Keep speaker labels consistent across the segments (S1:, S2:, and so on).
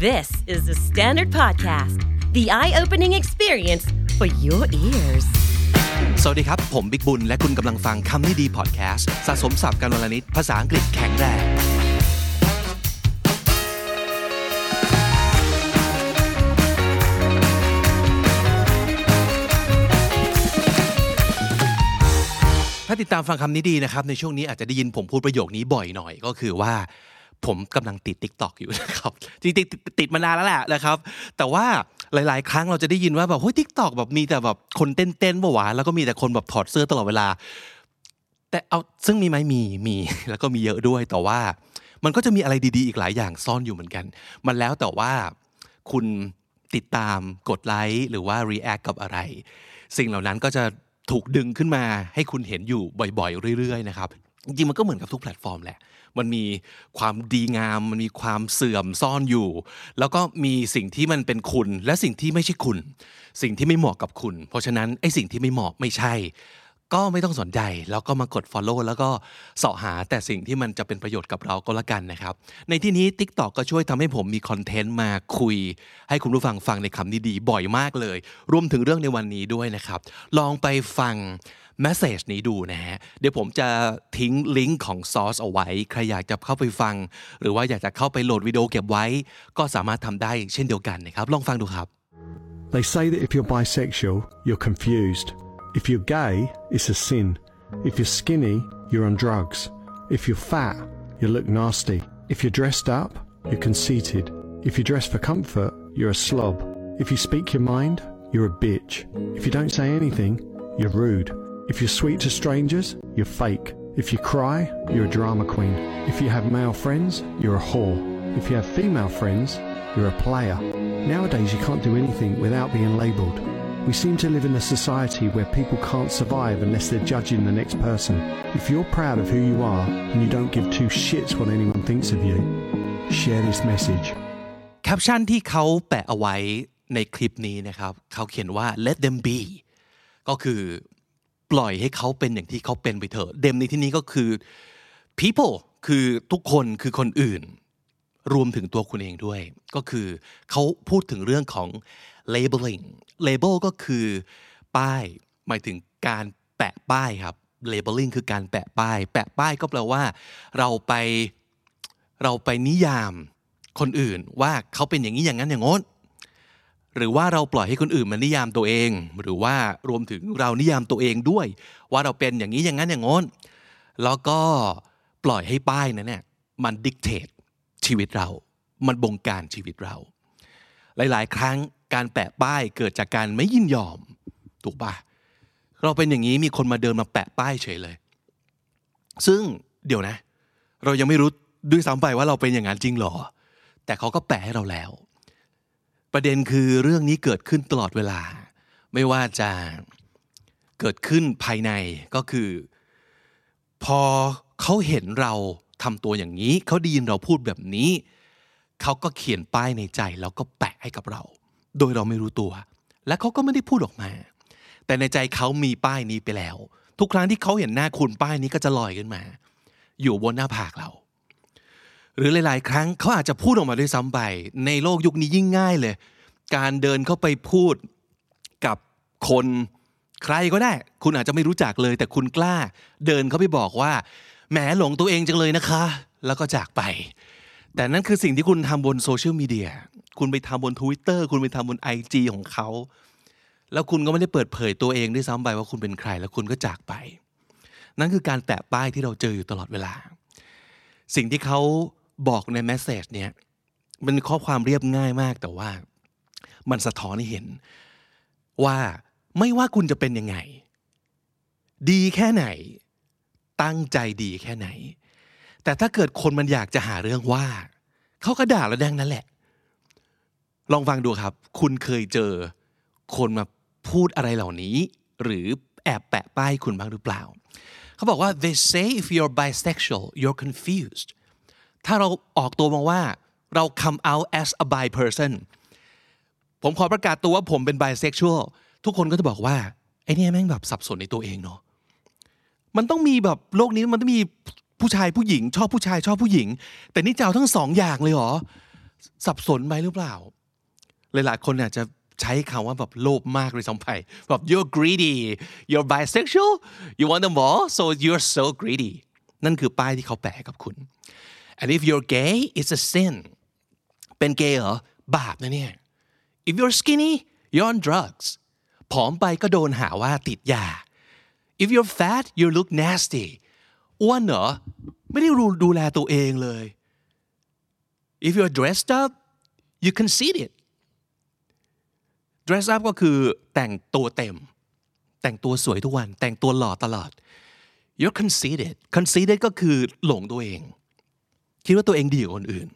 S1: This is the Standard Podcast, the eye-opening experience for your ears.
S2: สวัสดีครับผมบิ๊กบุญและคุณกำลังฟังคำนี้ดีพอดแคสต์สะสมศัพท์กันวันละนิดภาษาอังกฤษแข็งแรงถ้าติดตามฟังคำนี้ดีนะครับในช่วงนี้อาจจะได้ยินผมพูดประโยคนี้บ่อยหน่อยก็คือว่าผมกำลังติด TikTok อยู่นะครับจริงๆติดมานานแล้วแหละนะครับแต่ว่าหลายๆครั้งเราจะได้ยินว่าแบบเฮ้ย TikTok แบบมีแต่แบบคนเต้นๆบ่หวาแล้วก็มีแต่คนแบบถอดเสื้อตลอดเวลาแต่เอาซึ่งมีไหมมีแล้วก็มีเยอะด้วยแต่ว่ามันก็จะมีอะไรดีๆอีกหลายอย่างซ่อนอยู่เหมือนกันมันแล้วแต่ว่าคุณติดตามกดไลค์หรือว่า react กับอะไรสิ่งเหล่านั้นก็จะถูกดึงขึ้นมาให้คุณเห็นอยู่บ่อยๆเรื่อยๆนะครับจริงๆมันก็เหมือนกับทุกแพลตฟอร์มแหละมันมีความดีงามมันมีความเสื่อมซ่อนอยู่แล้วก็มีสิ่งที่มันเป็นคุณและสิ่งที่ไม่ใช่คุณสิ่งที่ไม่เหมาะกับคุณเพราะฉะนั้นไอ้สิ่งที่ไม่เหมาะไม่ใช่ก็ไม่ต้องสนใจแล้วก็มากด follow แล้วก็เสาะหาแต่สิ่งที่มันจะเป็นประโยชน์กับเราก็แล้วกันนะครับในที่นี้ TikTok ก็ช่วยทำให้ผมมีคอนเทนต์มาคุยให้คุณผู้ฟังฟังในคำนี้ดีบ่อยมากเลยรวมถึงเรื่องในวันนี้ด้วยนะครับลองไปฟังเมสเสจนี้ดูนะฮะเดี๋ยวผมจะทิ้งลิงก์ของซอสเอาไว้ใครอยากจะเข้าไปฟังหรือว่าอยากจะเข้าไปโหลดวิดีโอเก็บไว้ก็สามารถทำได้เช่นเดียวกันนะครับลองฟังดูครับ
S3: They say that if you're bisexual, you're confused. If you're gay, it's a sin. If you're skinny, you're on drugs. If you're fat, you look nasty. If you're dressed up, you're conceited. If you dress for comfort, you're a slob. If you speak your mind, you're a bitch. If you don't say anything, you're rude.If you're sweet to strangers, you're fake. If you cry, you're a drama queen. If you have male friends, you're a whore. If you have female friends, you're a player. Nowadays, you can't do anything without being labelled. We seem to live in a society where people can't survive unless they're judging the next person. If you're proud of who you are and you don't give two shits what anyone thinks of you, share this message.
S2: แคปชั่นที่เขาแปะเอาไว้ในคลิปนี้นะครับเขาเขียนว่า let them be ก็คือปล่อยให้เขาเป็นอย่างที่เขาเป็นไปเถอะเดมในที่นี้ก็คือ people คือทุกคนคือคนอื่นรวมถึงตัวคุณเองด้วยก็คือเขาพูดถึงเรื่องของ labeling label ก็คือป้ายหมายถึงการแปะป้ายครับ labeling คือการแปะป้ายก็แปลว่าเราไปนิยามคนอื่นว่าเขาเป็นอย่างนี้อย่างนั้นอย่างโน้นหรือว่าเราปล่อยให้คนอื่นมานิยามตัวเองหรือว่ารวมถึงเรานิยามตัวเองด้วยว่าเราเป็นอย่างนี้อย่างนั้นอย่างโน้นแล้วก็ปล่อยให้ป้ายนั้นเนี่ยมันดิกเตทชีวิตเรามันบงการชีวิตเราหลายๆครั้งการแปะป้ายเกิดจากการไม่ยินยอมถูกป่ะเราเป็นอย่างนี้มีคนมาเดินมาแปะป้ายเฉยเลยซึ่งเดี๋ยวนะเรายังไม่รู้ด้วยซ้ำไปว่าเราเป็นอย่างนั้นจริงหรอแต่เขาก็แปะให้เราแล้วประเด็นคือเรื่องนี้เกิดขึ้นตลอดเวลาไม่ว่าจะเกิดขึ้นภายในก็คือพอเขาเห็นเราทำตัวอย่างนี้เขาได้ยินเราพูดแบบนี้เขาก็เขียนป้ายในใจแล้วก็แปะให้กับเราโดยเราไม่รู้ตัวและเขาก็ไม่ได้พูดออกมาแต่ในใจเขามีป้ายนี้ไปแล้วทุกครั้งที่เขาเห็นหน้าคุณป้ายนี้ก็จะลอยขึ้นมาอยู่บนหน้าผากเราหรือหลายๆครั้งเขาอาจจะพูดออกมาด้วยซ้ำไปในโลกยุคนี้ยิ่งง่ายเลยการเดินเข้าไปพูดกับคนใครก็ได้คุณอาจจะไม่รู้จักเลยแต่คุณกล้าเดินเข้าไปบอกว่าแหมหลงตัวเองจังเลยนะคะแล้วก็จากไปแต่นั่นคือสิ่งที่คุณทำบนโซเชียลมีเดียคุณไปทำบน Twitter คุณไปทำบน IG ของเขาแล้วคุณก็ไม่ได้เปิดเผยตัวเองด้วยซ้ำไปว่าคุณเป็นใครแล้วคุณก็จากไปนั่นคือการแปะป้ายที่เราเจออยู่ตลอดเวลาสิ่งที่เขาบอกในเมสเสจเนี้ยมันข้อความเรียบง่ายมากแต่ว่ามันสะท้อนให้เห็นว่าไม่ว่าคุณจะเป็นยังไงดีแค่ไหนตั้งใจดีแค่ไหนแต่ถ้าเกิดคนมันอยากจะหาเรื่องว่าเขาก็ด่าเราดังนั้นแหละลองฟังดูครับคุณเคยเจอคนมาพูดอะไรเหล่านี้หรือแอบแปะป้ายคุณบ้างหรือเปล่าเขาบอกว่า they say if you're bisexual you're confused ถ้าเราออกตัวมาว่าเรา come out as a bi person ผมขอประกาศตัวว่าผมเป็น bisexual ทุกคนก็จะบอกว่าไอ้นี่แม่งแบบสับสนในตัวเองเนาะมันต้องมีแบบโลกนี้มันต้องมีผู้ชายผู้หญิงชอบผู้ชายชอบผู้หญิงแต่นี่จะเอาทั้งสองอย่างเลยเหรอสับสนไปหรือเปล่าหลายๆคนอาจจะใช้คำว่าแบบโลภมากเลยซ้ำไปแบบ you're greedy you're bisexual you want them all so you're so greedy นั่นคือป้ายที่เขาแปะกับคุณ and if you're gay it's a sin เป็นเกย์เหรอบาปนะเนี่ย if you're skinny you're on drugs ผอมไปก็โดนหาว่าติดยา if you're fat you look nasty อ้วนเหรอไม่ได้ดูแลตัวเองเลย if you're dressed up you conceited dress up ก็คือแต่งตัวเต็มแต่งตัวสวยทุกวันแต่งตัวหล่อตลอด you're conceited ก็คือหลงตัวเองคิดว่าตัวเองดีกว่าคนอื่น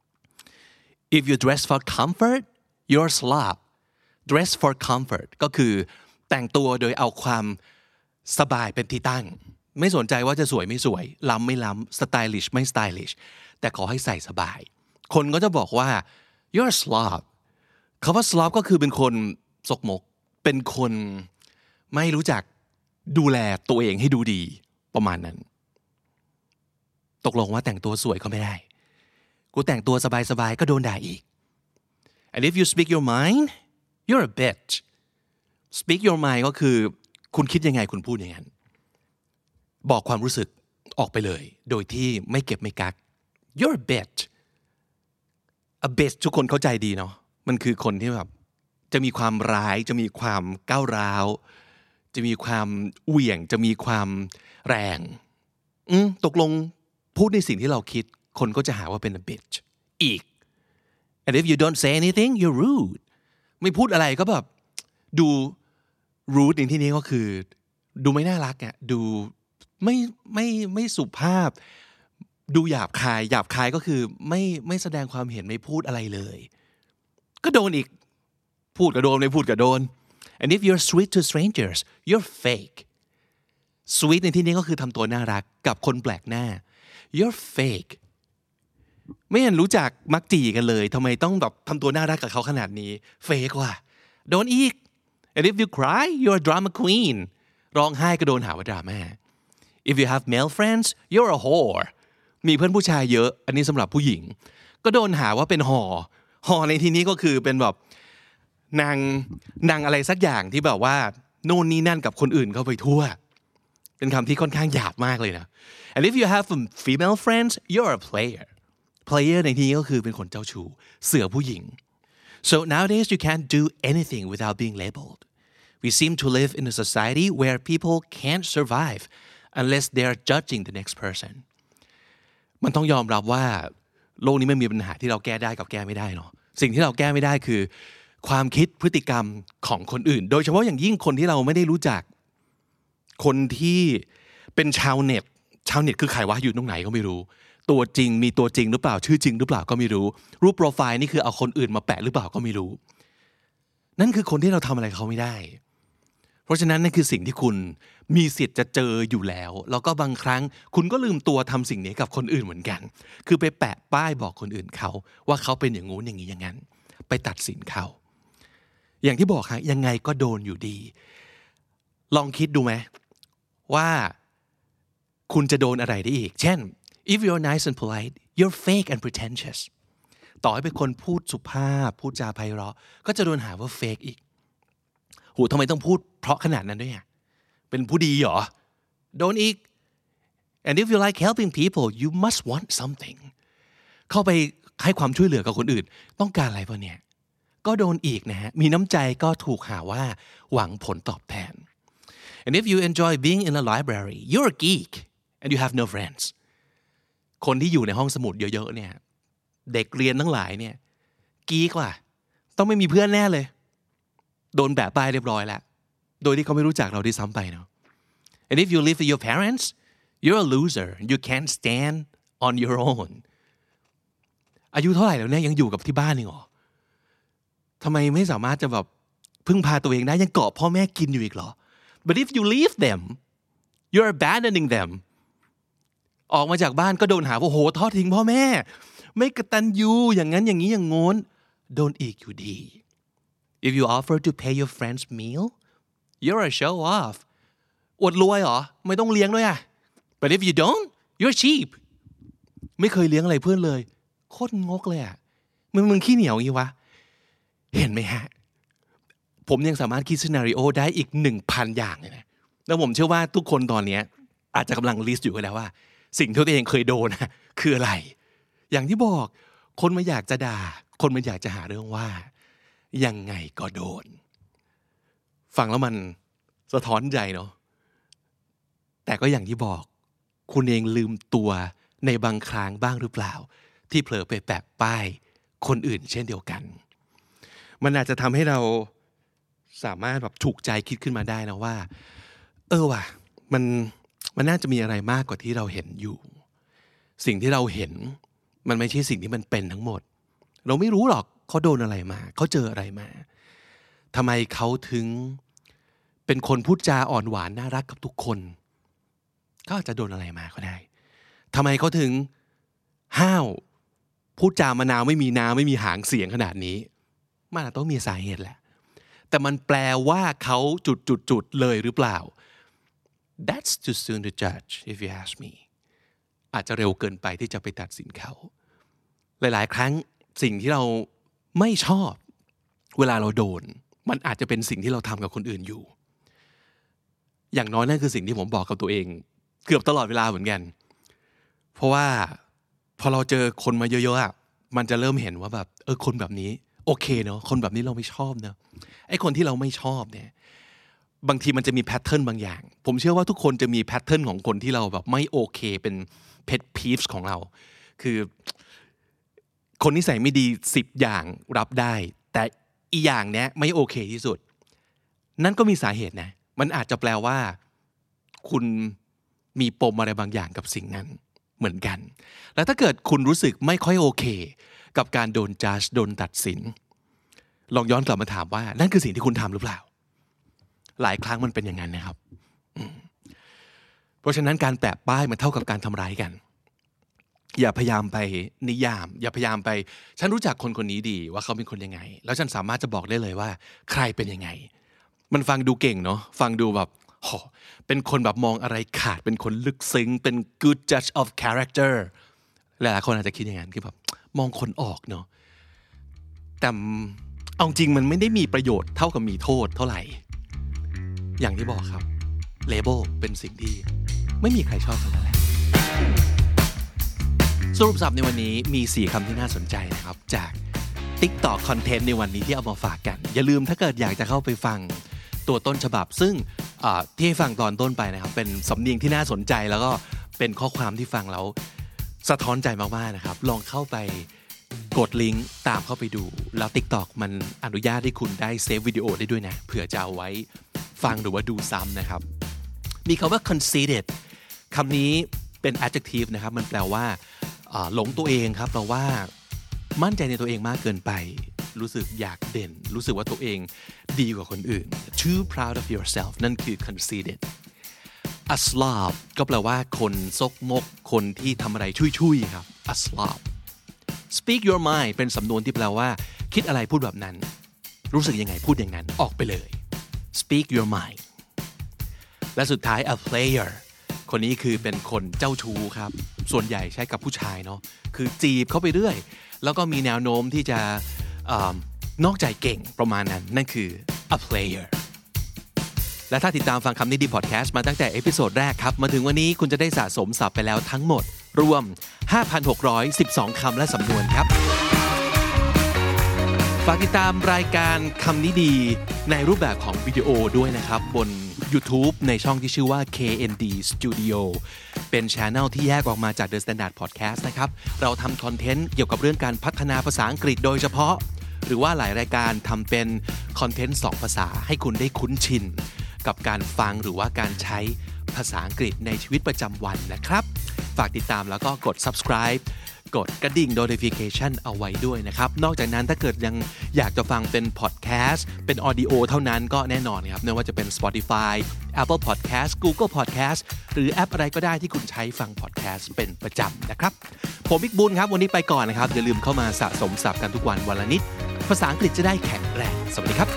S2: if you dress for comfort you're a slob dress for comfort ก็คือแต่งตัวโดยเอาความสบายเป็นที่ตั้งไม่สนใจว่าจะสวยไม่สวยล้ำไม่ล้ำ stylish ไม่ stylish แต่ขอให้ใส่สบายคนก็จะบอกว่า you're a slob คำว่า slob ก็คือเป็นคนสกมกเป็นคนไม่รู้จักดูแลตัวเองให้ดูดีประมาณนั้นตกลงว่าแต่งตัวสวยก็ไม่ได้กูแต่งตัวสบายๆก็โดนด่าอีก and if you speak your mind you're a bitch speak your mind ก็คือคุณคิดยังไงคุณพูดอย่างนั้นบอกความรู้สึกออกไปเลยโดยที่ไม่เก็บไม่กัก you're a bitch a bitch ทุกคนเข้าใจดีเนาะมันคือคนที่แบบจะมีความร้ายจะมีความก้าวร้าวจะมีความเหวี่ยงจะมีความแรงตกลงพูดในสิ่งที่เราคิดคนก็จะหาว่าเป็น a bitch อีก and if you don't say anything you're rude ไม่พูดอะไรก็แบบดู rude ในที่นี้ก็คือดูไม่น่ารักอ่ะดูไม่สุภาพดูหยาบคายก็คือไม่แสดงความเห็นไม่พูดอะไรเลยก็โดนอีกพูดก็โดนไม่พูดก็โดน and if you're sweet to strangers you're fake sweet ในที่นี้ก็คือทำตัวน่ารักกับคนแปลกหน้า you're fake ไม่เห็นรู้จักมักจีกันเลยทำไมต้องแบบทำตัวน่ารักกับเขาขนาดนี้ fake ว่ะโดนอีก and if you cry you're a drama queen ร้องไห้ก็โดนหาว่าดราม่า if you have male friends you're a whore มีเพื่อนผู้ชายเยอะอันนี้สำหรับผู้หญิงก็โดนหาว่าเป็นห่อในที่นี้ก็คือเป็นแบบนางอะไรสักอย่างที่แบบว่าโน่นนี่นั่นกับคนอื่นเข้าไปทั่วเป็นคำที่ค่อนข้างหยาบมากเลยนะ and if you have female friends you're a player ในที่นี้ก็คือเป็นคนเจ้าชู้เสือผู้หญิง so nowadays you can't do anything without being labeled we seem to live in a society where people can't survive unless they are judging the next person มันต้องยอมรับว่าโลกนี้ไม่มีปัญหาที่เราแก้ได้กับแก้ไม่ได้เนาะสิ่งที่เราแก้ไม่ได้คือความคิดพฤติกรรมของคนอื่นโดยเฉพาะอย่างยิ่งคนที่เราไม่ได้รู้จักคนที่เป็นชาวเน็ตคือใครวะอยู่ตรงไหนก็ไม่รู้ตัวจริงมีตัวจริงหรือเปล่าชื่อจริงหรือเปล่าก็ไม่รู้รูปโปรไฟล์นี่คือเอาคนอื่นมาแปะหรือเปล่าก็ไม่รู้นั่นคือคนที่เราทำอะไรเขาไม่ได้เพราะฉะนั้นนั่นคือสิ่งที่คุณมีสิทธิ์จะเจออยู่แล้วแล้วก็บางครั้งคุณก็ลืมตัวทำสิ่งนี้กับคนอื่นเหมือนกันคือไปแปะป้ายบอกคนอื่นเขาว่าเขาเป็นอย่างงู้นอย่างนี้อย่างนั้นไปตัดสินเขาอย่างที่บอกค่ะยังไงก็โดนอยู่ดีลองคิดดูไหมว่าคุณจะโดนอะไรได้อีกเช่น if you're nice and polite you're fake and pretentious ต่อให้เป็นคนพูดสุภาพพูดจาไพเราะก็จะโดนหาว่า fake อีกโหทำไมต้องพูดเพราะขนาดนั้นด้วยอ่ะเป็นผู้ดีเหรอโดนอีก and if you like helping people you must want something เข้าไปให้ความช่วยเหลือกับคนอื่นต้องการอะไรป่ะเนี่ยก็โดนอีกนะฮะมีน้ำใจก็ถูกหาว่าหวังผลตอบแทน and if you enjoy being in a library you're a geek and you have no friends คนที่อยู่ในห้องสมุดเยอะๆเนี่ยเด็กเรียนทั้งหลายเนี่ยกีกว่ะต้องไม่มีเพื่อนแน่เลยโดนแปะป้ายเรียบร้อยแล้วโดยที่เขาไม่รู้จักเราด้วยซ้ำไปเนาะ and if you live with your parents you're a loser you can't stand on your own อายุเท่าไหร่แล้วเนี่ยยังอยู่กับที่บ้านนี่หรอทำไมไม่สามารถจะแบบพึ่งพาตัวเองได้ยังเกาะพ่อแม่กินอยู่อีกเหรอ but if you leave them you're abandoning them ออกมาจากบ้านก็โดนหาว่าโหทอดทิ้งพ่อแม่ไม่กตัญญูอย่างนั้นอย่างนี้อย่างโน้นโดนอีกอยู่ดี if you offer to pay your friend's meal you're a show off อวดรวยเหรอไม่ต้องเลี้ยงด้วยอ่ะ but if you don't you're cheap ไม่เคยเลี้ยงอะไรเพื่อนเลยโคตรงกเลยอ่ะมึงขี้เหนียวงี้วะเห็นไหมฮะผมยังสามารถคิดซีนาริโอได้อีก 1,000 อย่างเลยนะแล้วผมเชื่อว่าทุกคนตอนนี้อาจจะกำลังลิสต์อยู่กันแล้วว่าสิ่งที่ตัวเองเคยโดนคืออะไรอย่างที่บอกคนมันอยากจะด่าคนมันอยากจะหาเรื่องว่ายังไงก็โดนฟังแล้วมันสะท้อนใจเนาะแต่ก็อย่างที่บอกคุณเองลืมตัวในบางครั้งบ้างหรือเปล่าที่เผลอไปแปะป้ายคนอื่นเช่นเดียวกันมันอาจจะทำให้เราสามารถแบบถูกใจคิดขึ้นมาได้นะว่าว่ะมันน่าจะมีอะไรมากกว่าที่เราเห็นอยู่สิ่งที่เราเห็นมันไม่ใช่สิ่งที่มันเป็นทั้งหมดเราไม่รู้หรอกเขาโดนอะไรมาเขาเจออะไรมาทำไมเขาถึงเป็นคนพูดจาอ่อนหวานน่ารักกับทุกคนเขาอาจจะโดนอะไรมาก็ได้ทำไมเขาถึงห้าวพูดจามะนาวไม่มีน้ำไม่มีหางเสียงขนาดนี้มันต้องมีสาเหตุแหละแต่มันแปลว่าเขาจุดเลยหรือเปล่า That's too soon to judge if you ask me อาจจะเร็วเกินไปที่จะไปตัดสินเขาหลายๆครั้งสิ่งที่เราไม่ชอบเวลาเราโดนมันอาจจะเป็นสิ่งที่เราทำกับคนอื่นอยู่อย่างน้อยนั่นคือสิ่งที่ผมบอกกับตัวเองเกือบตลอดเวลาเหมือนกันเพราะว่าพอเราเจอคนมาเยอะๆมันจะเริ่มเห็นว่าแบบคนแบบนี้โอเคเนาะคนแบบนี้เราไม่ชอบเนาะไอ้คนที่เราไม่ชอบเนี่ยบางทีมันจะมีแพทเทิร์นบางอย่างผมเชื่อว่าทุกคนจะมีแพทเทิร์นของคนที่เราแบบไม่โอเคเป็นเพทพีฟส์ของเราคือคนนิสัยไม่ดี10อย่างรับได้แต่อีอย่างเนี้ยไม่โอเคที่สุดนั่นก็มีสาเหตุนะมันอาจจะแปลว่าคุณมีปมอะไรบางอย่างกับสิ่งนั้นเหมือนกันแล้วถ้าเกิดคุณรู้สึกไม่ค่อยโอเคกับการโดนจัดโดนตัดสินลองย้อนกลับมาถามว่านั่นคือสิ่งที่คุณทำหรือเปล่าหลายครั้งมันเป็นอย่างนั้นนะครับเพราะฉะนั้นการแปะป้ายมันเท่ากับการทำร้ายกันอย่าพยายามไปนิยามอย่าพยายามไปฉันรู้จักคนคนนี้ดีว่าเขาเป็นคนยังไงแล้วฉันสามารถจะบอกได้เลยว่าใครเป็นยังไงมันฟังดูเก่งเนาะฟังดูแบบเป็นคนแบบมองอะไรขาดเป็นคนลึกซึ้งเป็น good judge of character หลายๆคนอาจจะคิดอย่างนั้นคือแบบมองคนออกเนาะแต่เอาจริงมันไม่ได้มีประโยชน์เท่ากับมีโทษเท่าไหร่อย่างที่บอกครับเลเบลเป็นสิ่งที่ไม่มีใครชอบเท่านั้นแหละสรุปศัพท์ในวันนี้มี4คำที่น่าสนใจนะครับจาก TikTok คอนเทนต์ในวันนี้ที่เอามาฝากกันอย่าลืมถ้าเกิดอยากจะเข้าไปฟังตัวต้นฉบับซึ่งที่ให้ฟังตอนต้นไปนะครับเป็นสำเนียงที่น่าสนใจแล้วก็เป็นข้อความที่ฟังแล้วสะท้อนใจมากๆนะครับลองเข้าไปกดลิงก์ตามเข้าไปดูแล้ว TikTok มันอนุญาตให้คุณได้เซฟวิดีโอได้ด้วยนะเผื่อจะเอาไว้ฟังหรือว่าดูซ้ำนะครับมีคำว่า conceited คำนี้เป็น adjective นะครับมันแปลว่าหลงตัวเองครับแปลว่ามั่นใจในตัวเองมากเกินไปรู้สึกอยากเด่นรู้สึกว่าตัวเองดีกว่าคนอื่น too proud of yourself นั่นคือ conceited a slob ก็แปลว่าคนซกมกคนที่ทำอะไรชุยๆครับ a slob speak your mind เป็นสำนวนที่แปลว่าคิดอะไรพูดแบบนั้นรู้สึกยังไงพูดอย่างนั้นออกไปเลย speak your mind และสุดท้าย a player คนนี้คือเป็นคนเจ้าชู้ครับส่วนใหญ่ใช้กับผู้ชายเนาะคือจีบเข้าไปเรื่อยแล้วก็มีแนวโน้มที่จะนอกใจเก่งประมาณนั้นนั่นคือ a player และถ้าติดตามฟังคำนี้ดีพอดแคสต์มาตั้งแต่เอพิโซดแรกครับมาถึงวันนี้คุณจะได้สะสมศัพท์ไปแล้วทั้งหมดรวม 5,612 คำและสำนวนครับฝากติดตามรายการคำนี้ดีในรูปแบบของวิดีโอด้วยนะครับบน YouTube ในช่องที่ชื่อว่า KND Studio เป็น channel ที่แยกออกมาจาก The Standard Podcast นะครับเราทำคอนเทนต์เกี่ยวกับเรื่องการพัฒนาภาษาอังกฤษโดยเฉพาะหรือว่าหลายรายการทำเป็นคอนเทนต์2ภาษาให้คุณได้คุ้นชินกับการฟังหรือว่าการใช้ภาษาอังกฤษในชีวิตประจำวันนะครับฝากติดตามแล้วก็กด subscribe กดกระดิ่ง notification เอาไว้ด้วยนะครับนอกจากนั้นถ้าเกิดยังอยากจะฟังเป็น podcast เป็น audio เท่านั้นก็แน่นอนครับไม่ว่าจะเป็น Spotify Apple Podcast Google Podcast หรือแอปอะไรก็ได้ที่คุณใช้ฟัง podcast เป็นประจำนะครับผมบิ๊กบุญครับวันนี้ไปก่อนนะครับอย่าลืมเข้ามาสะสมศัพท์กันทุกวันละนิดภาษาอังกฤษจะได้แข็งแรงสวัสดีครับ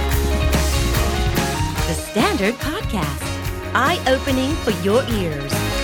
S1: The Standard Podcast Eye Opening for Your Ears